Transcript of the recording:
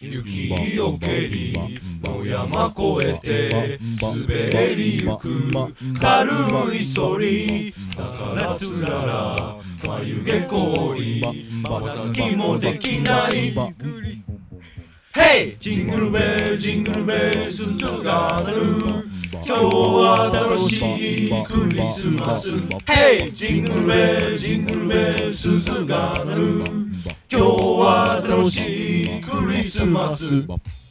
雪よけに野山越えて滑りゆく軽いそりだからつらら眉毛濃い瞬きもできない Hey! ジングルベルジングルベル鈴が鳴る今日は楽しいクリスマス Hey! ジングルベルジングルベル鈴が鳴る今日は楽しいクリスマス